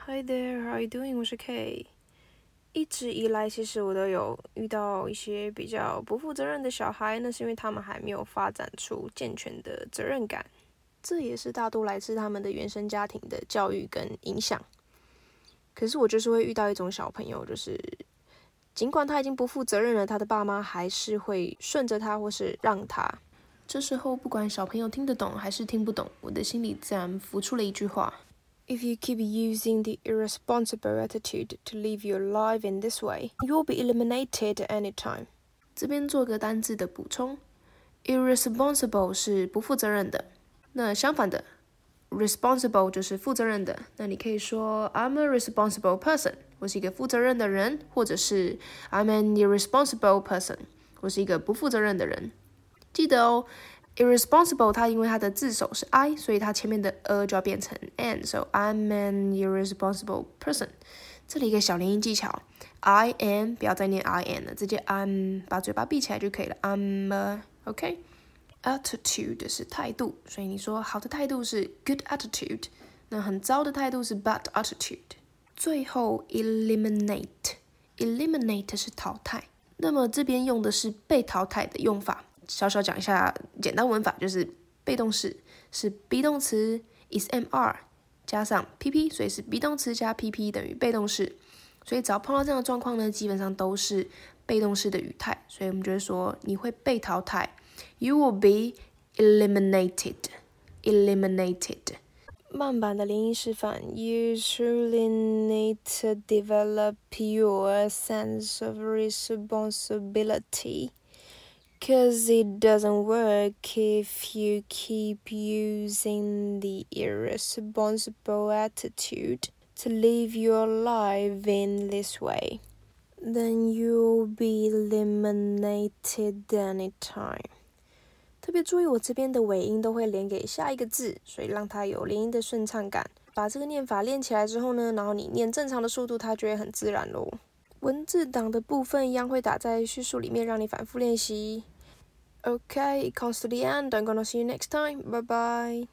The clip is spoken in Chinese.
Hi there, how are you doing? 我是 K。一直以来，其实我都有遇到一些比较不负责任的小孩，那是因为他们还没有发展出健全的责任感，这也是大多来自他们的原生家庭的教育跟影响。可是我就是会遇到一种小朋友，就是尽管他已经不负责任了，他的爸妈还是会顺着他或是让他。这时候不管小朋友听得懂还是听不懂，我的心里自然浮出了一句话：If you keep using the irresponsible attitude to live your life in this way, you'll be eliminated anytime. 这边做个单字的补充 ，irresponsible 是不负责任的，那相反的 responsible 就是负责任的。那你可以说 I'm a responsible person， 我是一个负责任的人，或者是 I'm an irresponsible person， 我是一个不负责任的人。记得哦 ，irresponsible 它因为它的字首是 I， 所以它前面的就要变成 n，so I'm an irresponsible person。这里一个小连音技巧 ，I am 不要再念 I am 了，直接 I'm 把嘴巴闭起来就可以了。I'm OK。Attitude 是态度，所以你说好的态度是 good attitude， 那很糟的态度是 bad attitude。最后 eliminate 是淘汰，那么这边用的是被淘汰的用法。小小讲一下简单文法，就是被动式是 be 动词 ismr 加上 pp， 所以是 be 动词加 pp 等于被动式。所以只要碰到这样的状况呢，基本上都是被动式的语态，所以我们就会说你会被淘汰。You will be eliminated. 慢版的连音示范 You truly need to develop your sense of responsibility, cause it doesn't work if you keep using the irresponsible attitude to live your life in this way. Then you'll be eliminated anytime. 特别注意，我这边的尾音都会连给下一个字，所以让它有连音的顺畅感。把这个念法练起来之后呢，然后你念正常的速度，它就会很自然咯。文字档的部分一样会打在叙述里面，让你反复练习。Okay, it comes to the end. I'm gonna see you next time. Bye bye.